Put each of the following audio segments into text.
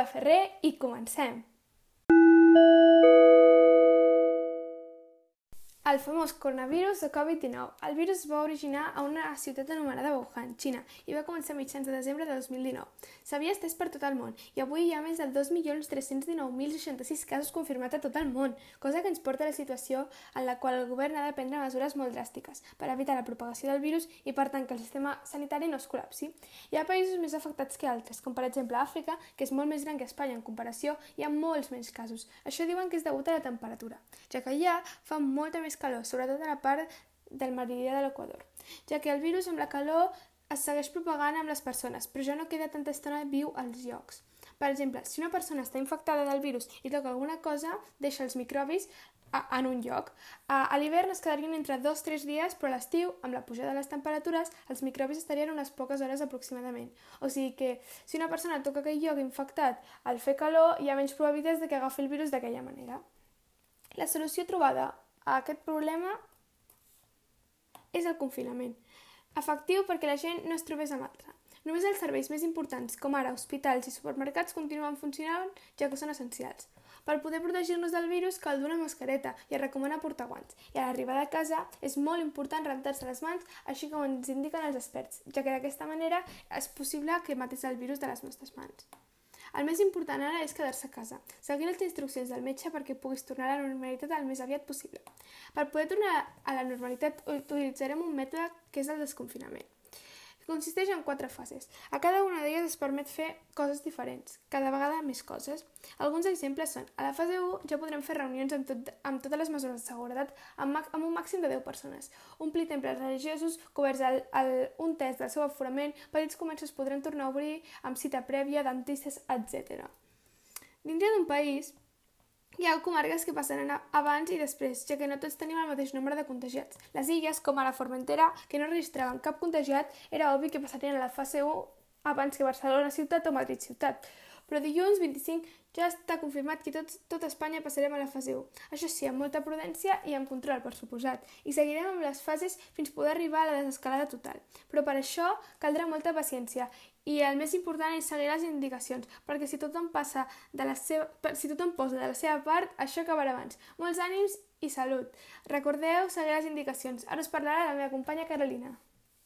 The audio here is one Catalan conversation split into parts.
Paula Ferrer i comencem! El famós coronavirus de Covid-19. El virus es va originar a una ciutat anomenada Wuhan, Xina, i va començar a mitjans de desembre de 2019. S'havia estès per tot el món i avui hi ha més de 2.319.066 casos confirmats a tot el món, cosa que ens porta a la situació en la qual el govern ha de prendre mesures molt dràstiques per evitar la propagació del virus i per tant que el sistema sanitari no es col·lapsi. Hi ha països més afectats que altres, com per exemple Àfrica, que és molt més gran que Espanya en comparació, hi ha molts menys casos. Això diuen que és degut a la temperatura, ja que allà fa molta més calor, sobretot a la part del meridià de l'Equador, ja que el virus amb la calor es segueix propagant amb les persones, però ja no queda tanta estona viu als llocs. Per exemple, si una persona està infectada del virus i toca alguna cosa, deixa els microbis en un lloc. A l'hivern es quedarien entre 2-3 dies, però a l'estiu, amb la pujada de les temperatures, els microbis estarien unes poques hores aproximadament. O sigui que, si una persona toca aquell lloc infectat al fer calor, hi ha menys probabilitats de que agafi el virus d'aquella manera. La solució trobada a aquest problema és el confinament, efectiu perquè la gent no es trobés amb altra. Només els serveis més importants, com ara hospitals i supermercats, continuen funcionant, ja que són essencials. Per poder protegir-nos del virus cal dur una mascareta i es recomana portar guants. I a l'arribada a casa és molt important rentar-se les mans, així com ens indiquen els experts, ja que d'aquesta manera és possible que matis el virus de les nostres mans. El més important ara és quedar-se a casa, seguir les instruccions del metge perquè puguis tornar a la normalitat el més aviat possible. Per poder tornar a la normalitat utilitzarem un mètode que és el desconfinament, que consisteix en 4 fases. A cada una d'elles es permet fer coses diferents, cada vegada més coses. Alguns exemples són: a la fase 1 ja podrem fer reunions amb totes les mesures de seguretat amb un màxim de 10 persones, omplir temples religiosos coberts un terç del seu aforament, petits comerços podran tornar a obrir amb cita prèvia, dentistes, etc. Dintre d'un país hi ha comarques que passaran abans i després, ja que no tots tenim el mateix nombre de contagiats. Les illes, com ara Formentera, que no registraven cap contagiat, era obvi que passarien a la fase 1 abans que Barcelona ciutat o Madrid ciutat. Però dilluns 25 ja està confirmat que tot Espanya passarem a la fase 1. Això sí, amb molta prudència i amb control, per suposat. I seguirem amb les fases fins poder arribar a la desescalada total. Però per això caldrà molta paciència. I el més important és seguir les indicacions, perquè si tothom posa de la seva part, això acabarà abans. Molts ànims i salut. Recordeu seguir les indicacions. Ara us parlarà la meva companya Carolina.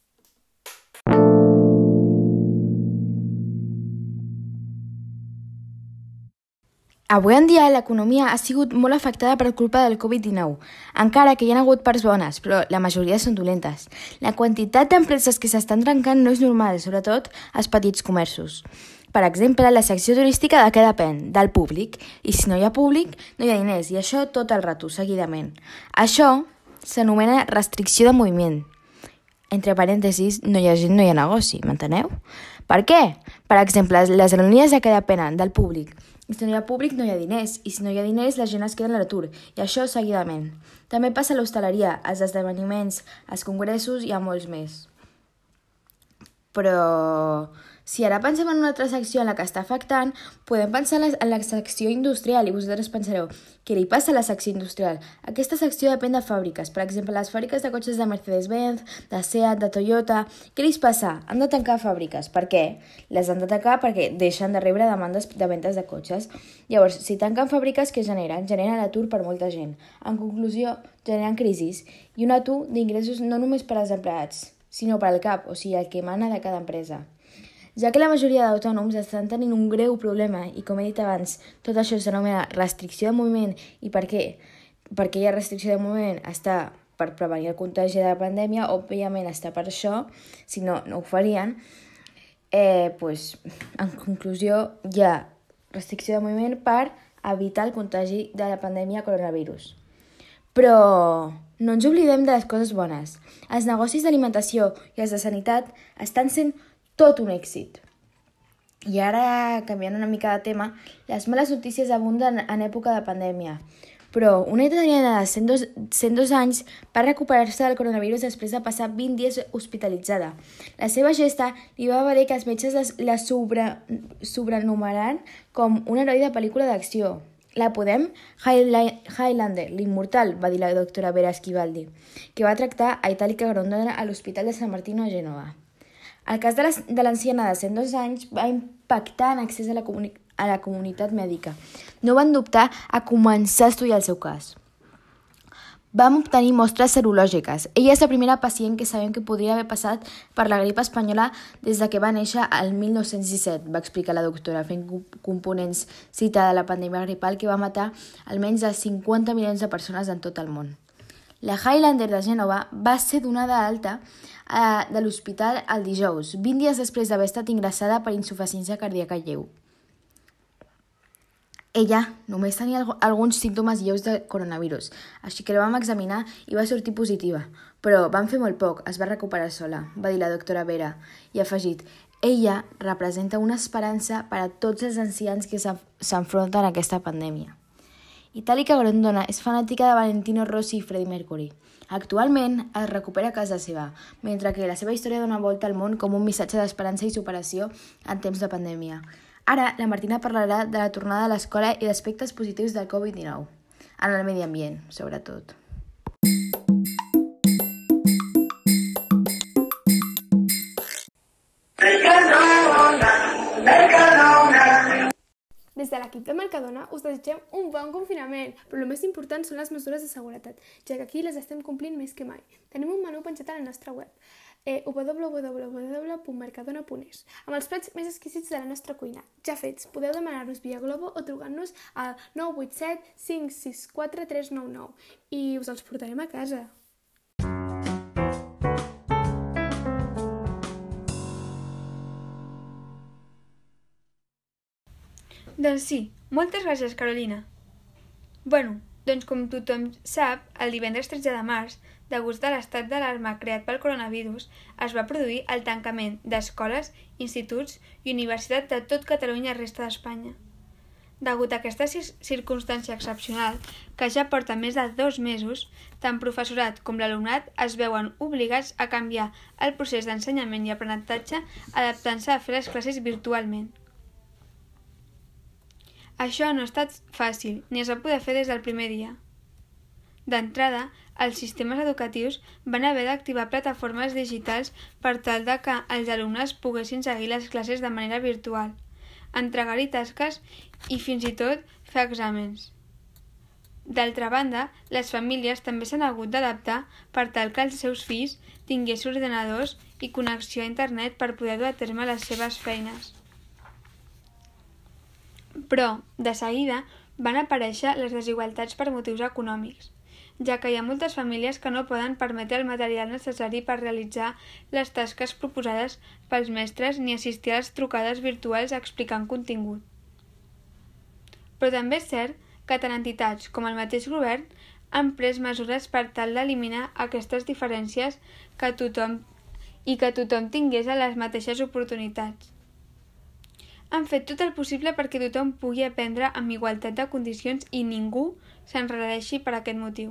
Avui en dia l'economia ha sigut molt afectada per culpa del Covid-19, encara que hi ha hagut parts bones, però la majoria són dolentes. La quantitat d'empreses que s'estan trencant no és normal, sobretot als petits comerços. Per exemple, la secció turística de què depèn? Del públic. I si no hi ha públic, no hi ha diners, i això tot el rato, seguidament. Això s'anomena restricció de moviment. Entre parèntesis, no hi ha gent, no hi ha negoci, m'enteneu? Per què? Per exemple, les aerolínies de què depenen? Del públic. I si no hi ha públic, no hi ha diners. I si no hi ha diners, la gent es queda en l'atur. I això seguidament. També passa a l'hostaleria, als esdeveniments, als congressos i a molts més. Però si ara pensem en una altra secció en la que està afectant, podem pensar en la secció industrial i vosaltres pensareu, què li passa a la secció industrial? Aquesta secció depèn de fàbriques, per exemple, les fàbriques de cotxes de Mercedes-Benz, de Seat, de Toyota. Què li passa? Han de tancar fàbriques. Per què? Les han de tancar perquè deixen de rebre demandes de ventes de cotxes. Llavors, si tanquen fàbriques, què generen? Generen l'atur per molta gent. En conclusió, generen crisis i un atur d'ingressos no només per als empleats, sinó per al cap, o sigui, el que mana de cada empresa. Ja que la majoria d'autònoms estan tenint un greu problema i, com he dit abans, tot això s'anomena restricció de moviment. I per què? Perquè hi ha restricció de moviment, està per prevenir el contagi de la pandèmia, òbviament està per això, si no, no ho farien. En conclusió, hi ha restricció de moviment per evitar el contagi de la pandèmia coronavirus. Però no ens oblidem de les coses bones. Els negocis d'alimentació i els de sanitat estan sent tot un èxit. I ara, canviant una mica de tema, les males notícies abunden en època de pandèmia. Però una italiana de 102 anys va recuperar-se del coronavirus després de passar 20 dies hospitalitzada. La seva gesta li va valer que els metges la sobrenomeraran com un heroi de pel·lícula d'acció. La podem? Highlander, l'immortal, va dir la doctora Vera Schiavaldi, que va tractar a Itàlica Grondona a l'Hospital de San Martino a Gènova. El cas de l'anciana de 102 anys va impactar en accés a a la comunitat mèdica. No van dubtar a començar a estudiar el seu cas. Vam obtenir mostres serològiques. Ella és la primera pacient que sabem que podria haver passat per la grip espanyola des de que va néixer el 1917, va explicar la doctora, fent components citada de la pandèmia gripal que va matar almenys a 50 milions de persones en tot el món. La Highlander de Gènova va ser donada alta de l'hospital el dijous, 20 dies després d'haver estat ingressada per insuficiència cardíaca lleu. Ella només tenia alguns símptomes lleus de coronavirus, així que la vam examinar i va sortir positiva. Però van fer molt poc, es va recuperar sola, va dir la doctora Vera, i ha afegit: ella representa una esperança per a tots els ancians que s'enfronten a aquesta pandèmia. Itàlica Grondona és fanàtica de Valentino Rossi i Freddie Mercury. Actualment es recupera a casa seva, mentre que la seva història dona volta al món com un missatge d'esperança i superació en temps de pandèmia. Ara, la Martina parlarà de la tornada a l'escola i d'aspectes positius del Covid-19, en el medi ambient, sobretot. Des de l'equip de Mercadona us desitgem un bon confinament, però el més important són les mesures de seguretat, ja que aquí les estem complint més que mai. Tenim un menú penjat a la nostra web, www.mercadona.es, amb els plats més exquisits de la nostra cuina, ja fets. Podeu demanar-los via Glovo o trucant-nos al 987 564 399 i us els portarem a casa. Doncs sí, moltes gràcies, Carolina. Doncs com tothom sap, el divendres 13 de març, degut a l'estat d'alarma creat pel coronavirus, es va produir el tancament d'escoles, instituts i universitats de tot Catalunya i la resta d'Espanya. Degut a aquesta circumstància excepcional, que ja porta més de 2 mesos, tant professorat com l'alumnat es veuen obligats a canviar el procés d'ensenyament i aprenentatge adaptant-se a fer les classes virtualment. Això no ha estat fàcil, ni es va poder fer des del primer dia. D'entrada, els sistemes educatius van haver d'activar plataformes digitals per tal de que els alumnes poguessin seguir les classes de manera virtual, entregar-hi tasques i fins i tot fer exàmens. D'altra banda, les famílies també s'han hagut d'adaptar per tal que els seus fills tinguessin ordenadors i connexió a internet per poder dur a terme les seves feines. Però, de seguida, van aparèixer les desigualtats per motius econòmics, ja que hi ha moltes famílies que no poden permetre el material necessari per realitzar les tasques proposades pels mestres ni assistir a les trucades virtuals explicant contingut. Però també és cert que tant entitats com el mateix govern han pres mesures per tal d'eliminar aquestes diferències que tothom tingués les mateixes oportunitats. Han fet tot el possible perquè tothom pugui aprendre amb igualtat de condicions i ningú s'enredeixi per aquest motiu.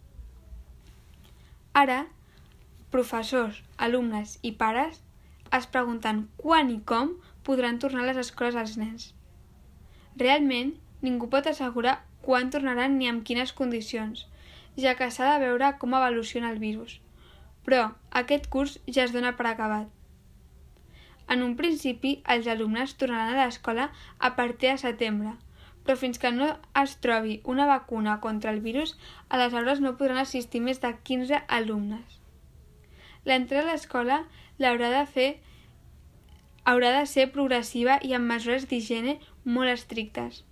Ara, professors, alumnes i pares es pregunten quan i com podran tornar a les escoles els nens. Realment, ningú pot assegurar quan tornaran ni amb quines condicions, ja que s'ha de veure com evoluciona el virus. Però aquest curs ja es dona per acabat. En un principi, els alumnes tornaran a l'escola a partir de setembre, però fins que no es trobi una vacuna contra el virus, a les aules no podran assistir més de 15 alumnes. L'entrada a l'escola haurà de ser progressiva i amb mesures d'higiene molt estrictes.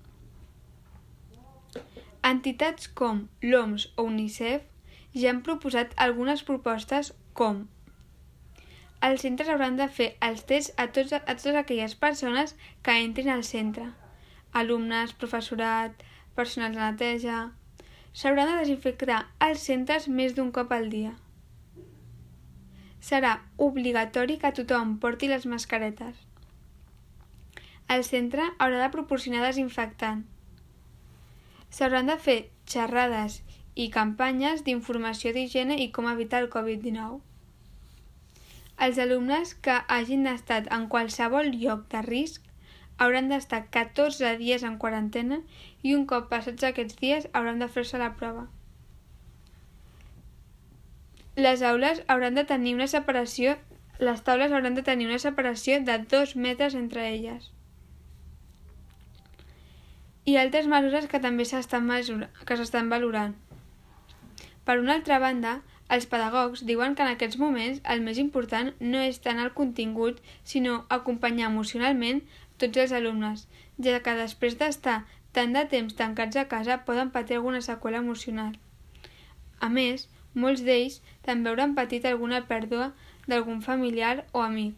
Entitats com l'OMS o UNICEF ja han proposat algunes propostes com: els centres hauran de fer els tests a totes aquelles persones que entrin al centre, alumnes, professorat, personal de neteja. S'hauran de desinfectar els centres més d'un cop al dia. Serà obligatori que tothom porti les mascaretes. El centre haurà de proporcionar desinfectant. S'hauran de fer xerrades i campanyes d'informació d'higiene i com evitar el Covid-19. Els alumnes que hagin estat en qualsevol lloc de risc hauran d'estar 14 dies en quarantena i un cop passats aquests dies hauran de fer-se la prova. Les taules hauran de tenir una separació de 2 metres entre elles. i altres mesures que també s'estan valorant. Per una altra banda, els pedagogs diuen que en aquests moments el més important no és tant el contingut, sinó acompanyar emocionalment tots els alumnes, ja que després d'estar tant de temps tancats a casa poden patir alguna seqüela emocional. A més, molts d'ells també hauran patit alguna pèrdua d'algun familiar o amic.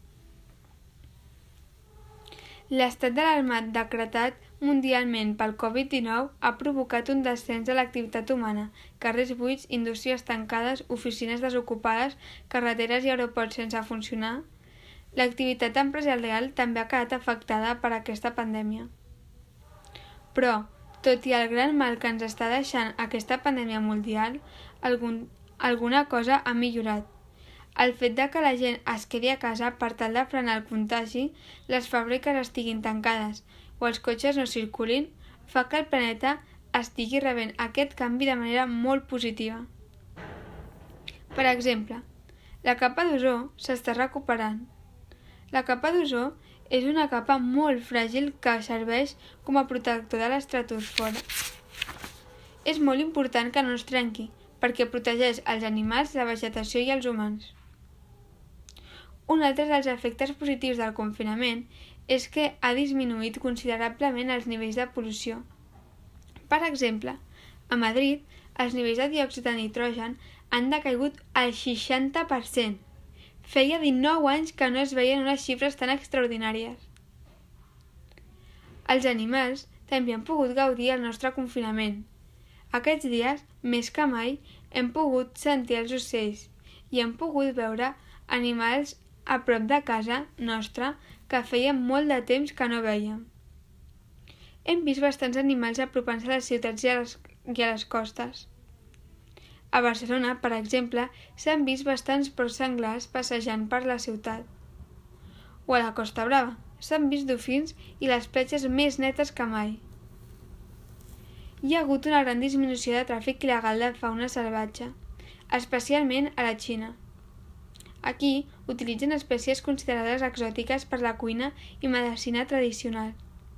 L'estat d'alarma decretat mundialment pel Covid-19 ha provocat un descens de l'activitat humana, carrers buits, indústries tancades, oficines desocupades, carreteres i aeroports sense funcionar. L'activitat empresarial també ha quedat afectada per aquesta pandèmia. Però, tot i el gran mal que ens està deixant aquesta pandèmia mundial, alguna cosa ha millorat. El fet de que la gent es quedi a casa per tal de frenar el contagi, les fàbriques estiguin tancades o els cotxes no circulin, fa que el planeta estigui rebent aquest canvi de manera molt positiva. Per exemple, la capa d'ozó s'està recuperant. La capa d'ozó és una capa molt fràgil que serveix com a protector de l'estratosfera. És molt important que no es trenqui, perquè protegeix els animals, la vegetació i els humans. Un altre dels efectes positius del confinament és que ha disminuït considerablement els nivells de pol·lució. Per exemple, a Madrid, els nivells de diòxid de nitrogen han decaigut al 60%. Feia 19 anys que no es veien unes xifres tan extraordinàries. Els animals també han pogut gaudir el nostre confinament. Aquests dies, més que mai, hem pogut sentir els ocells i hem pogut veure animals a prop de casa nostra que feia molt de temps que no vèiem. Hem vist bastants animals apropant-se a les ciutats i a les costes. A Barcelona, per exemple, s'han vist bastants porcs senglars passejant per la ciutat. O a la Costa Brava, s'han vist dofins i les platges més netes que mai. Hi ha hagut una gran disminució de tràfic il·legal de fauna salvatge, especialment a la Xina. Aquí utilitzen espècies considerades exòtiques per la cuina i medicina tradicional.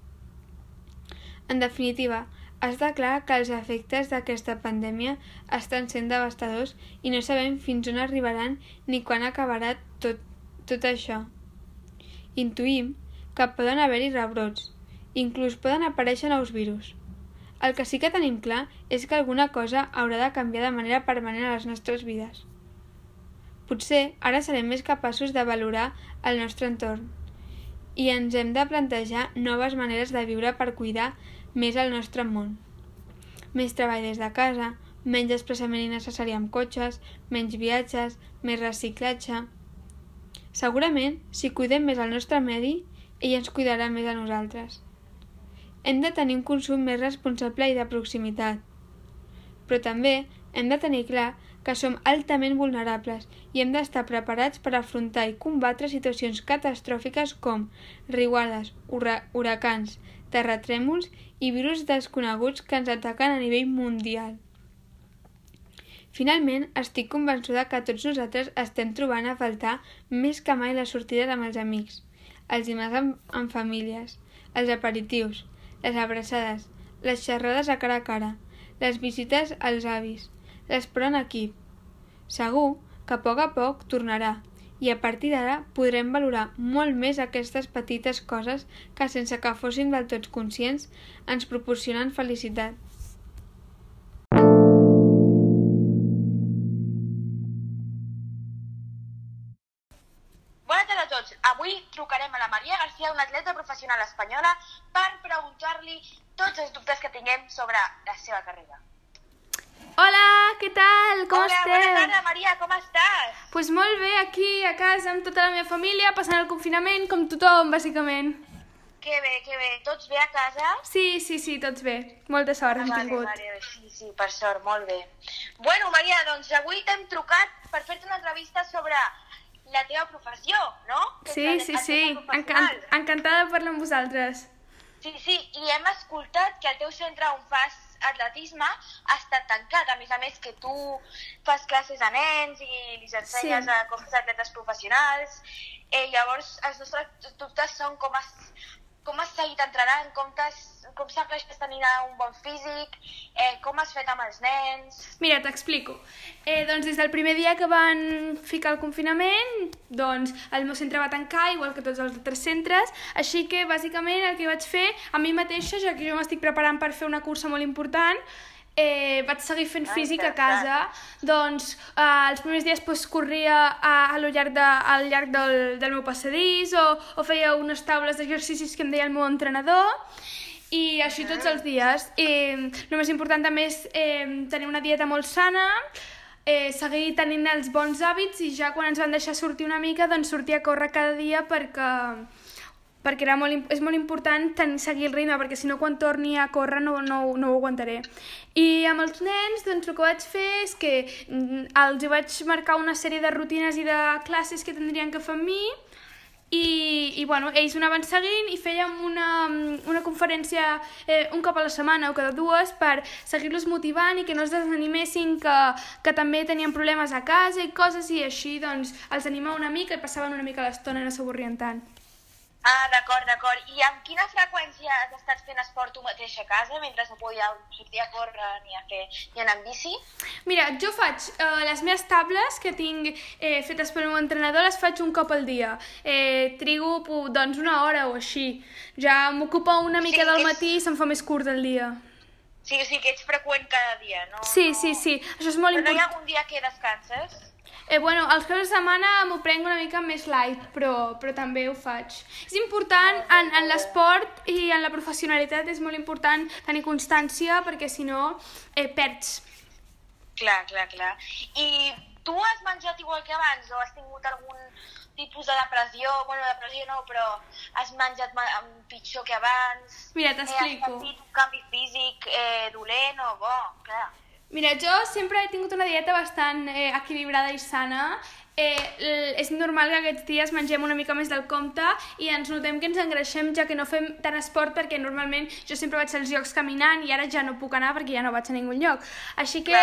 En definitiva, està clar que els efectes d'aquesta pandèmia estan sent devastadors i no sabem fins on arribaran ni quan acabarà tot això. Intuïm que poden haver-hi rebrots, inclús poden aparèixer nous virus. El que sí que tenim clar és que alguna cosa haurà de canviar de manera permanent a les nostres vides. Potser ara serem més capaços de valorar el nostre entorn i ens hem de plantejar noves maneres de viure per cuidar més el nostre món. Més treball des de casa, menys desplaçament innecessari amb cotxes, menys viatges, més reciclatge. Segurament, si cuidem més el nostre medi, ell ens cuidarà més a nosaltres. Hem de tenir un consum més responsable i de proximitat. Però també hem de tenir clar que som altament vulnerables i hem d'estar preparats per afrontar i combatre situacions catastròfiques com riuades, huracans, terratrèmols i virus desconeguts que ens ataquen a nivell mundial. Finalment, estic convençuda que tots nosaltres estem trobant a faltar més que mai les sortides amb els amics, els dinars amb famílies, els aperitius, les abraçades, les xerrades a cara, les visites als avis, l'esport en equip. Segur que a poc tornarà i a partir d'ara podrem valorar molt més aquestes petites coses que sense que fóssim del tot conscients ens proporcionen felicitat. Bona tarda a tots. Avui trucarem a la Maria García, una atleta professional espanyola, per preguntar-li tots els dubtes que tinguem sobre la seva carrera. Hola, què tal? Com Hola, esteu? bona tarda, Maria, com estàs? Pues molt bé, aquí a casa amb tota la meva família, passant el confinament com tothom, bàsicament. Que bé. Tots bé a casa? Sí, tots bé. Molta sort hem tingut. Vale, sí, per sort, molt bé. Bueno, Maria, doncs avui t'hem trucat per fer-te una entrevista sobre la teva professió, no? Sí. Encantada de parlar amb vosaltres. Sí, i hem escoltat que el teu centre on fas atletisme ha estat tancat, a més que tu fas classes a nens i els ensenyes a com ser atletes professionals. Llavors, els nostres dubtes són com com has seguit entrenant, com s'aconsegueix tenir un bon físic, com has fet amb els nens... Mira, t'explico. Doncs des del primer dia que van ficar el confinament, doncs el meu centre va tancar, igual que tots els altres centres, així que bàsicament el que vaig fer a mi mateixa, ja que jo m'estic preparant per fer una cursa molt important, vaig seguir fent físic a casa. Doncs els primers dies corria al llarg del meu passadís o feia unes taules d'exercicis que em deia el meu entrenador, i així tots els dies. El més important també és tenir una dieta molt sana, seguir tenint els bons hàbits, i ja quan ens van deixar sortir una mica, doncs sortir a córrer cada dia perquè és molt important seguir el ritme, perquè si no quan torni a córrer no ho aguantaré. I amb els nens doncs el que vaig fer és que els vaig marcar una sèrie de rutines i de classes que tindrien que fer amb mi, i bueno, ells ho anaven seguint, i fèiem una conferència un cop a la setmana o cada dues per seguir-los motivant i que no es desanimessin, que també tenien problemes a casa i coses, i així doncs els animava una mica i passaven una mica l'estona i no s'avorrien tant. Ah, d'acord. I amb quina freqüència has estat fent esport tu mateix a casa mentre no podíeu sortir a córrer ni anar en bici? Mira, jo faig les meves tables que tinc fetes pel meu entrenador, les faig un cop al dia. Trigo doncs una hora o així. Ja m'ocupa una mica del matí i se'm fa més curt el dia. Sí, o sigui que ets freqüent cada dia, no? Sí, això és molt important. Però no hi ha algun dia que descanses? Bueno, els caps de setmana m'ho prenc una mica més light, però també ho faig. És important, en l'esport i en la professionalitat és molt important tenir constància, perquè si no perds. Clar. I tu has menjat igual que abans o has tingut algun tipus de depressió? Bueno, depressió no, però has menjat pitjor que abans? Mira, t'explico. Has sentit un canvi físic dolent o bo? Clar. Mira, jo sempre he tingut una dieta bastant equilibrada i sana. És normal que aquests dies mengem una mica més del compte i ens notem que ens engreixem, ja que no fem tant esport, perquè normalment jo sempre vaig als llocs caminant i ara ja no puc anar perquè ja no vaig a ningun lloc. Així que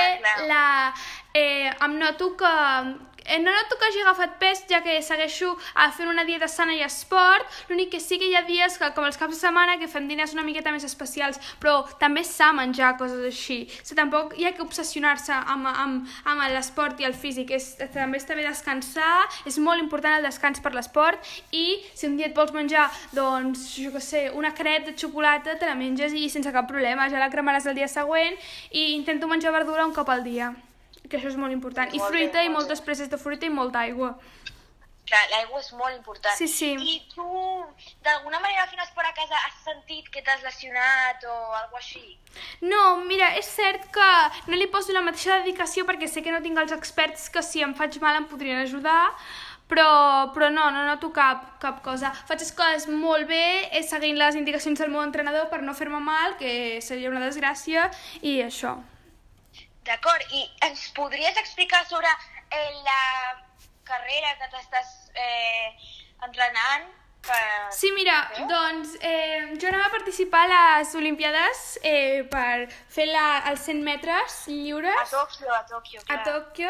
em noto que... No noto que hagi agafat pes, ja que segueixo fent una dieta sana i esport. L'únic que sí que hi ha dies, com els caps de setmana, que fem diners una miqueta més especials, però també és sa menjar coses així. Tampoc hi ha que obsessionar-se amb l'esport i el físic. També està bé descansar, és molt important el descans per l'esport, i si un dia et vols menjar, doncs, jo què sé, una caret de xocolata, te la menges i sense cap problema, ja la cremaràs el dia següent, i intento menjar verdura un cop al dia, que això és molt important. I fruita, i moltes preses de fruita i molta aigua. Clar, l'aigua és molt important. Sí. I tu, d'alguna manera, fent esport a casa, has sentit que t'has lesionat o alguna cosa així? No, mira, és cert que no li poso la mateixa dedicació perquè sé que no tinc els experts que si em faig mal em podrien ajudar, però no noto cap cosa. Faig les coses molt bé, seguint les indicacions del meu entrenador per no fer-me mal, que seria una desgràcia, i això. D'acord, i ens podries explicar sobre la carrera que t'estàs entrenant? Sí, mira, doncs jo anava a participar a les Olimpiades per fer els 100 metres lliures. A Tòquio, clar. A Tòquio,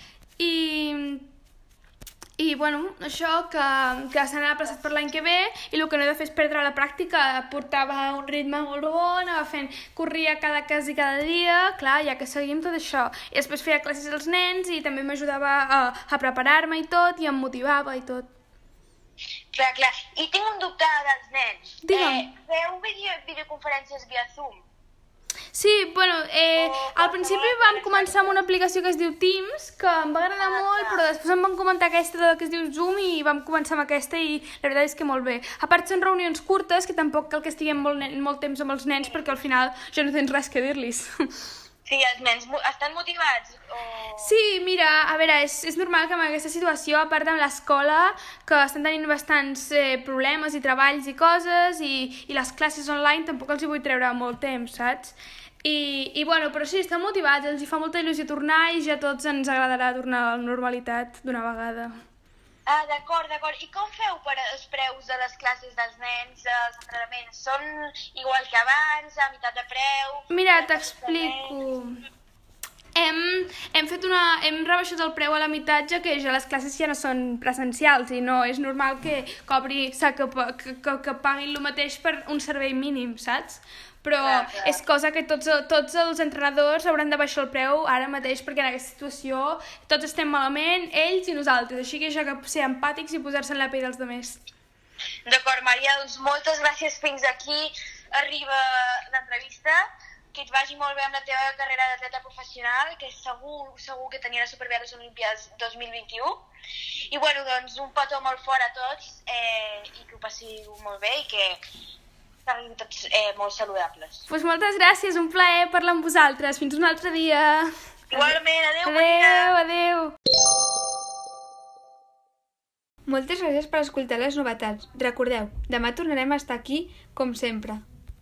i bueno, això que s'han aplaçat per l'any que ve, i el que no he de fer és perdre la pràctica. Portava un ritme molt bo, corria quasi cada dia, clar, ja que seguim tot això. I després feia classes als nens i també m'ajudava a preparar-me i tot, i em motivava i tot. Clar. I tinc un dubte dels nens. Digue'm. Feu videoconferències via Zoom? Sí, bueno, al principi vam començar amb una aplicació que es diu Teams, que em va agradar molt, però després em van comentar aquesta que es diu Zoom i vam començar amb aquesta, i la veritat és que molt bé. A part són reunions curtes, que tampoc cal que estiguem molt temps amb els nens, perquè al final ja no tens res que dir-los. Sí, els nens estan motivats? Sí, mira, a veure, és normal que en aquesta situació, a part de l'escola, que estan tenint bastants problemes i treballs i coses, i les classes online tampoc els hi vull treure molt temps, saps? I bueno, però sí, estan motivats, els hi fa molta il·lusió tornar, i ja a tots ens agradarà tornar a la normalitat d'una vegada. Ah, d'acord. I com feu per els preus de les classes dels nens, els entrenaments? Són igual que abans, a meitat de preu? Mira, t'explico. Hem fet hem rebaixat el preu a la meitat, ja que ja les classes ja no són presencials i no és normal que paguin el mateix per un servei mínim, saps? Però és cosa que tots els entrenadors hauran de baixar el preu ara mateix, perquè en aquesta situació tots estem malament, ells i nosaltres, així que ja que ser empàtics i posar-se en la pell dels altres. D'acord, Maria, doncs moltes gràcies. Fins aquí arriba l'entrevista. Que et vagi molt bé amb la teva carrera d'atleta professional, que segur que t'anirà superbé a les Olimpíades 2021. I bueno, doncs un petó molt fort a tots i que ho passiu molt bé i que siguin tots molt saludables. Doncs moltes gràcies, un plaer parlar amb vosaltres. Fins un altre dia. Igualment, adéu, Maria. Adéu. Moltes gràcies per escoltar les novetats. Recordeu, demà tornarem a estar aquí, com sempre.